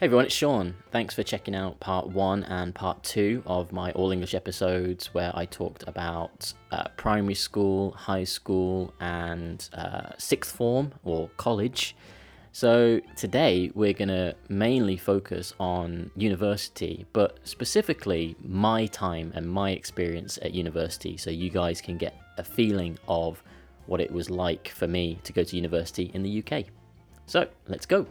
Hey everyone, it's Sean. Thanks for checking out part one and part two of my All English episodes where I talked about primary school, high school, and sixth form or college. So today we're going to mainly focus on university, but specifically my time and my experience at university, so you guys can get a feeling of what it was like for me to go to university in the UK. So let's go.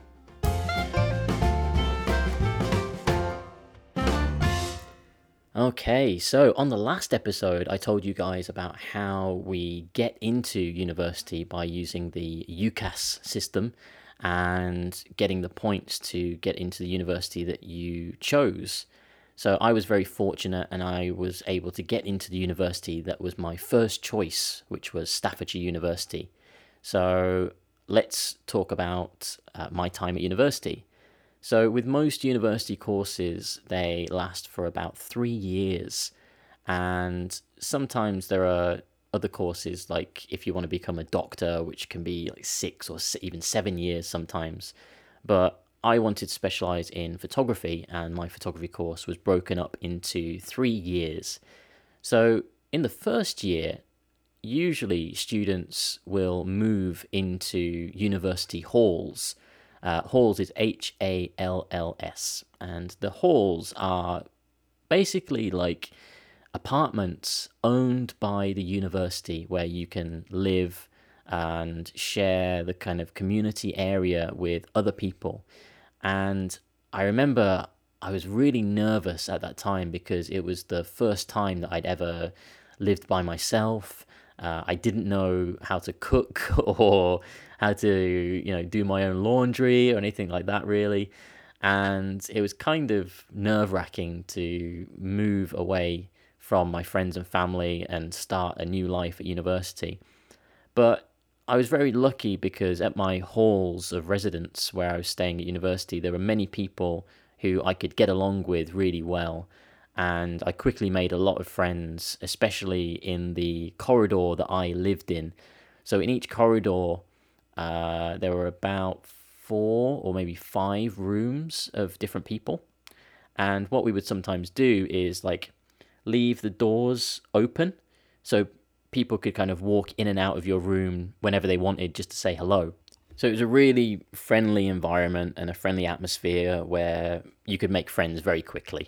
Okay, so on the last episode, I told you guys about how we get into university by using the UCAS system and getting the points to get into the university that you chose. So I was very fortunate and I was able to get into the university that was my first choice, which was Staffordshire University. So let's talk about my time at university. So with most university courses, they last for about 3 years. And sometimes there are other courses, like if you want to become a doctor, which can be like 6 or even 7 years sometimes. But I wanted to specialize in photography, and my photography course was broken up into 3 years. So in the first year, usually students will move into university halls. Halls is Halls, and the halls are basically like apartments owned by the university where you can live and share the kind of community area with other people. And I remember I was really nervous at that time because it was the first time that I'd ever lived by myself. I didn't know how to cook or how to, do my own laundry or anything like that, really. And it was kind of nerve-wracking to move away from my friends and family and start a new life at university. But I was very lucky because at my halls of residence where I was staying at university, there were many people who I could get along with really well. And I quickly made a lot of friends, especially in the corridor that I lived in. So in each corridor, there were about 4 or maybe 5 rooms of different people. And what we would sometimes do is like leave the doors open so people could kind of walk in and out of your room whenever they wanted just to say hello. So it was a really friendly environment and a friendly atmosphere where you could make friends very quickly.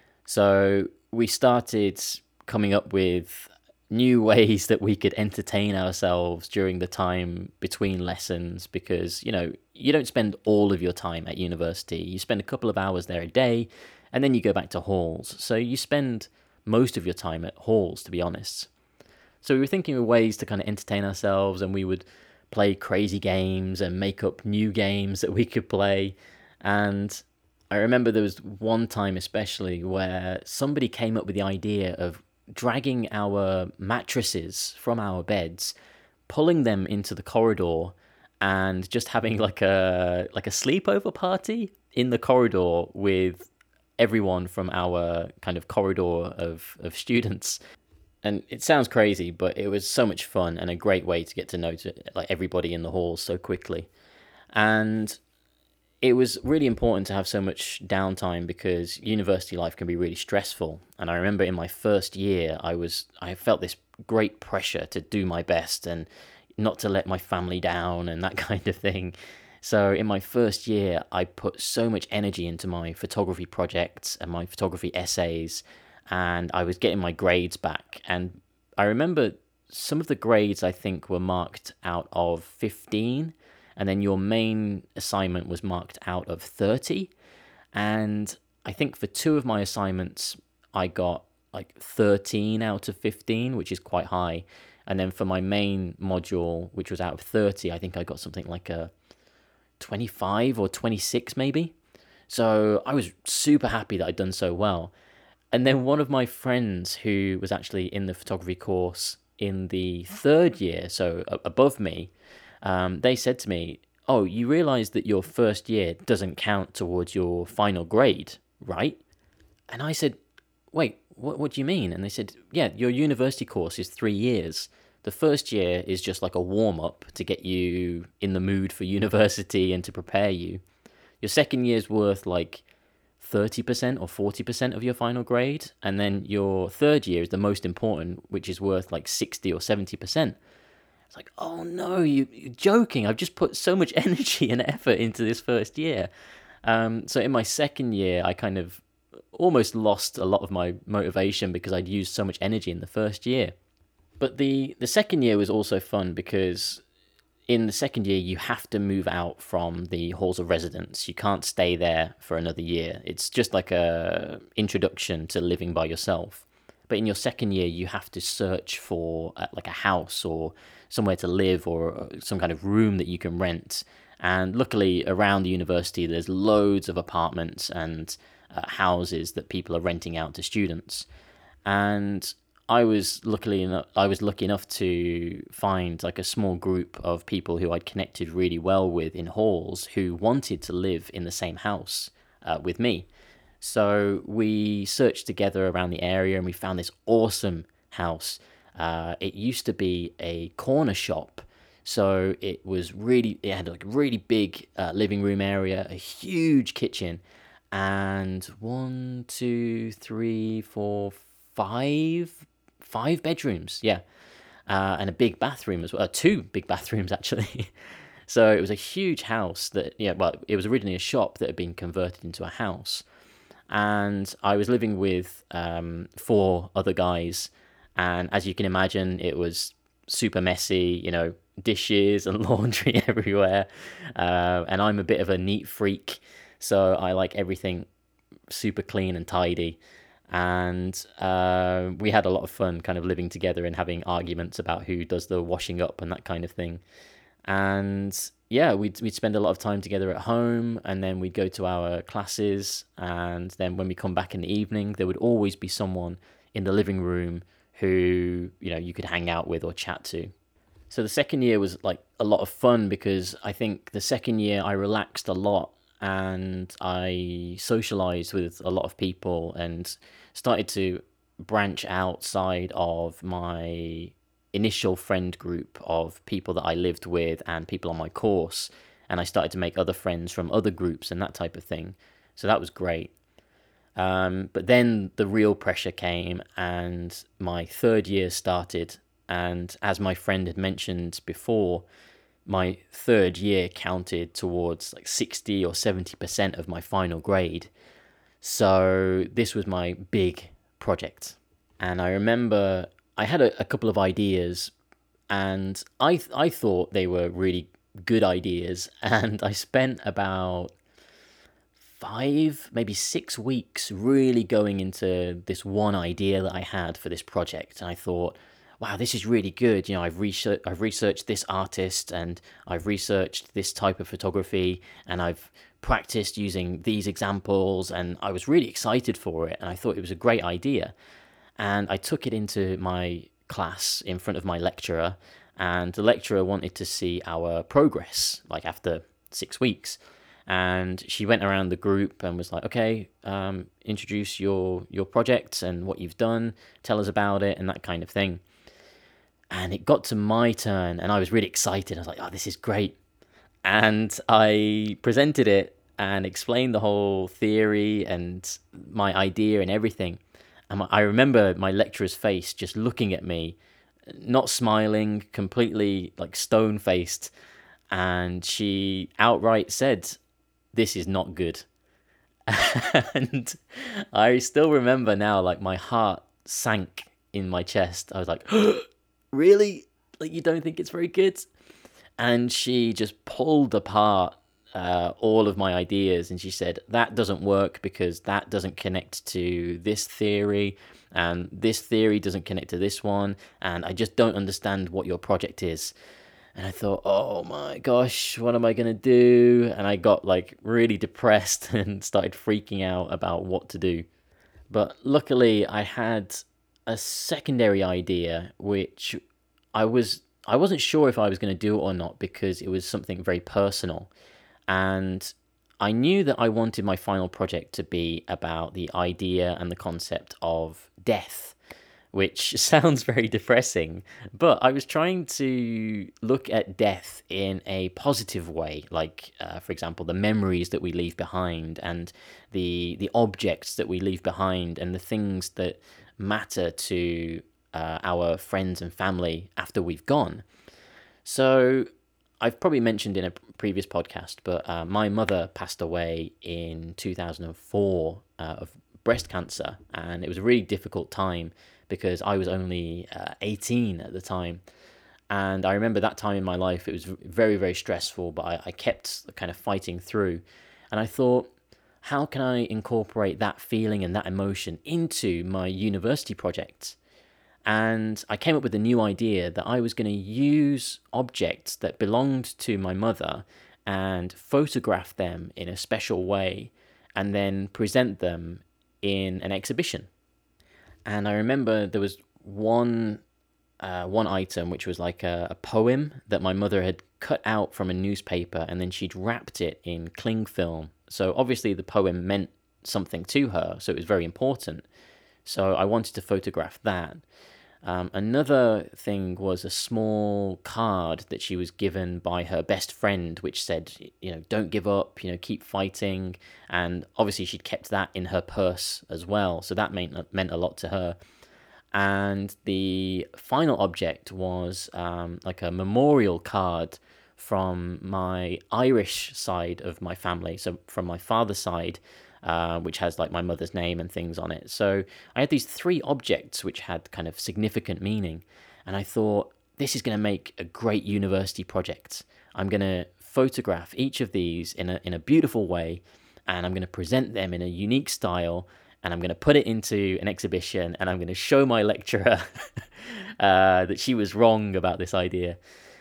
So we started coming up with new ways that we could entertain ourselves during the time between lessons because, you don't spend all of your time at university. You spend a couple of hours there a day and then you go back to halls. So you spend most of your time at halls, to be honest. So we were thinking of ways to kind of entertain ourselves, and we would play crazy games and make up new games that we could play. And I remember there was one time especially where somebody came up with the idea of dragging our mattresses from our beds, pulling them into the corridor, and just having like a sleepover party in the corridor with everyone from our kind of corridor of students. And it sounds crazy, but it was so much fun and a great way to get to know like everybody in the halls so quickly. And it was really important to have so much downtime because university life can be really stressful. And I remember in my first year, I felt this great pressure to do my best and not to let my family down and that kind of thing. So in my first year, I put so much energy into my photography projects and my photography essays, and I was getting my grades back. And I remember some of the grades I think were marked out of 15, and then your main assignment was marked out of 30. And I think for 2 of my assignments, I got like 13 out of 15, which is quite high. And then for my main module, which was out of 30, I think I got something like a 25 or 26 maybe. So I was super happy that I'd done so well. And then one of my friends who was actually in the photography course in the 3rd year, so above me, they said to me, "Oh, you realize that your first year doesn't count towards your final grade, right?" And I said, "Wait, what do you mean?" And they said, "Yeah, your university course is 3 years. The first year is just like a warm-up to get you in the mood for university and to prepare you. your second year's worth like 30% or 40% of your final grade, and then your third year is the most important, which is worth like 60 or 70%. It's like, oh no, you're joking. I've just put so much energy and effort into this first year. So in my second year, I kind of almost lost a lot of my motivation because I'd used so much energy in the first year. But the second year was also fun because in the second year, you have to move out from the halls of residence. You can't stay there for another year. It's just like a introduction to living by yourself. But in your second year, you have to search for like a house or somewhere to live or some kind of room that you can rent. And luckily, around the university, there's loads of apartments and houses that people are renting out to students. And I was lucky enough to find like a small group of people who I'd connected really well with in halls who wanted to live in the same house with me. So we searched together around the area and we found this awesome house. It used to be a corner shop. So it had like a really big living room area, a huge kitchen, and one, two, three, four, five bedrooms. Yeah. And a big bathroom as well. Two big bathrooms, actually. So it was a huge house it was originally a shop that had been converted into a house. And I was living with four other guys. And as you can imagine, it was super messy, dishes and laundry everywhere. And I'm a bit of a neat freak. So I like everything super clean and tidy. And we had a lot of fun kind of living together and having arguments about who does the washing up and that kind of thing. And yeah, we'd spend a lot of time together at home, and then we'd go to our classes, and then when we come back in the evening, there would always be someone in the living room who, you could hang out with or chat to. So the second year was like a lot of fun because I think the second year I relaxed a lot and I socialized with a lot of people and started to branch outside of my initial friend group of people that I lived with and people on my course. And I started to make other friends from other groups and that type of thing. So that was great. But then the real pressure came and my third year started. And as my friend had mentioned before, my third year counted towards like 60 or 70% of my final grade. So this was my big project. And I remember I had a couple of ideas and I thought they were really good ideas. And I spent about 5, maybe 6 weeks really going into this one idea that I had for this project. And I thought, wow, this is really good. I've researched this artist and I've researched this type of photography and I've practiced using these examples, and I was really excited for it and I thought it was a great idea. And I took it into my class in front of my lecturer, and the lecturer wanted to see our progress, like after 6 weeks. And she went around the group and was like, okay, introduce your project and what you've done, tell us about it and that kind of thing. And it got to my turn and I was really excited. I was like, oh, this is great. And I presented it and explained the whole theory and my idea and everything. And I remember my lecturer's face just looking at me, not smiling, completely like stone-faced. And she outright said, this is not good. And I still remember now, like my heart sank in my chest. I was like, really? Like, you don't think it's very good? And she just pulled apart all of my ideas, and she said, that doesn't work because that doesn't connect to this theory, and this theory doesn't connect to this one, and I just don't understand what your project is. And I thought, oh my gosh, what am I going to do? And I got like really depressed and started freaking out about what to do. But luckily I had a secondary idea, which I wasn't sure if I was going to do it or not because it was something very personal. And I knew that I wanted my final project to be about the idea and the concept of death, which sounds very depressing, but I was trying to look at death in a positive way, like, for example, the memories that we leave behind and the objects that we leave behind and the things that matter to our friends and family after we've gone. So I've probably mentioned in a previous podcast, but my mother passed away in 2004 of breast cancer, and it was a really difficult time because I was only 18 at the time. And I remember that time in my life, it was very, very stressful, but I kept kind of fighting through. And I thought, how can I incorporate that feeling and that emotion into my university project? And I came up with a new idea that I was going to use objects that belonged to my mother and photograph them in a special way and then present them in an exhibition. And I remember there was one item which was like a poem that my mother had cut out from a newspaper, and then she'd wrapped it in cling film. So obviously the poem meant something to her, so it was very important. So I wanted to photograph that. Another thing was a small card that she was given by her best friend, which said, don't give up, keep fighting. And obviously she'd kept that in her purse as well. So that meant a lot to her. And the final object was like a memorial card from my Irish side of my family. So from my father's side, which has like my mother's name and things on it. So I had these 3 objects which had kind of significant meaning. And I thought, this is going to make a great university project. I'm going to photograph each of these in a beautiful way, and I'm going to present them in a unique style, and I'm going to put it into an exhibition, and I'm going to show my lecturer that she was wrong about this idea.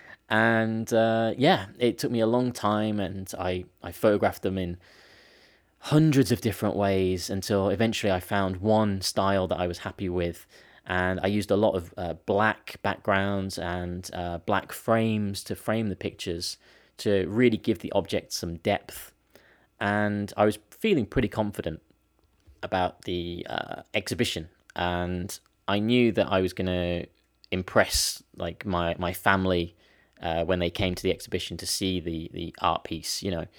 And it took me a long time, and I photographed them in hundreds of different ways until eventually I found one style that I was happy with. And I used a lot of black backgrounds and black frames to frame the pictures to really give the object some depth. And I was feeling pretty confident about the exhibition, and I knew that I was going to impress like my family when they came to the exhibition to see the art piece,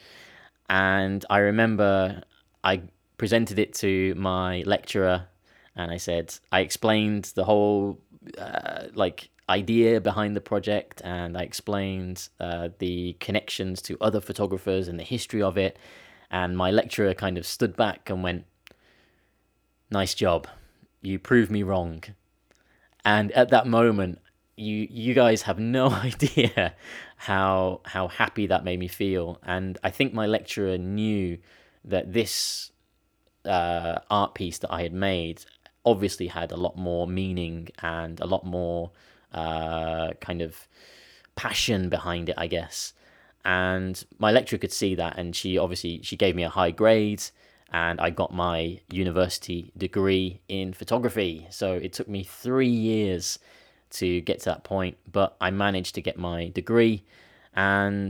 And I remember I presented it to my lecturer, and I explained the whole idea behind the project, and I explained the connections to other photographers and the history of it. And my lecturer kind of stood back and went, "Nice job. You proved me wrong." And at that moment, you guys have no idea how happy that made me feel. And I think my lecturer knew that this art piece that I had made obviously had a lot more meaning and a lot more kind of passion behind it, I guess. And my lecturer could see that, and she gave me a high grade, and I got my university degree in photography. So it took me 3 years to get to that point, but I managed to get my degree. And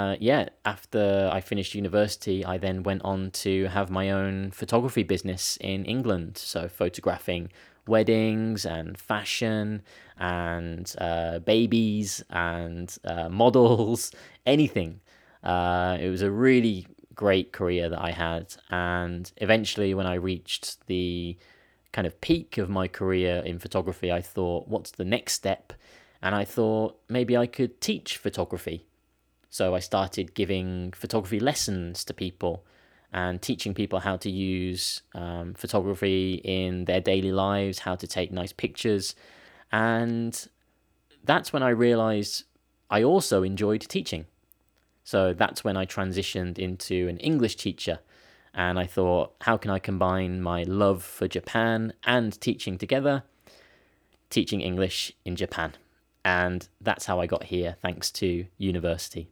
after I finished university, I then went on to have my own photography business in England. So photographing weddings and fashion and babies and models, anything. It was a really great career that I had. And eventually, when I reached the kind of peak of my career in photography, I thought, what's the next step? And I thought maybe I could teach photography. So I started giving photography lessons to people and teaching people how to use photography in their daily lives, how to take nice pictures. And that's when I realized I also enjoyed teaching. So that's when I transitioned into an English teacher. And I thought, how can I combine my love for Japan and teaching together? Teaching English in Japan. And that's how I got here, thanks to university.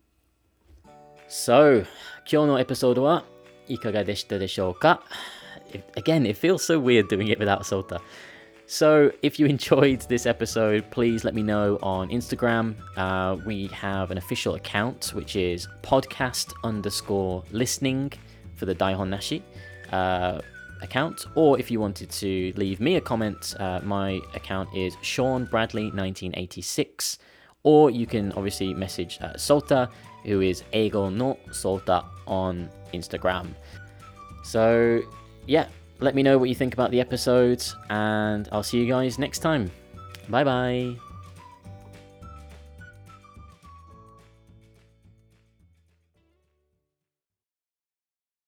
So, 今日のエピソードはいかがでしたでしょうか? Again, it feels so weird doing it without Sota. So, if you enjoyed this episode, please let me know on Instagram. We have an official account, which is podcast_listening for the Daihon Nashi. account, or if you wanted to leave me a comment, my account is Sean Bradley 1986, or you can obviously message Solta, who is Eigo no Solta on Instagram. So yeah, let me know what you think about the episodes, and I'll see you guys next time. Bye bye.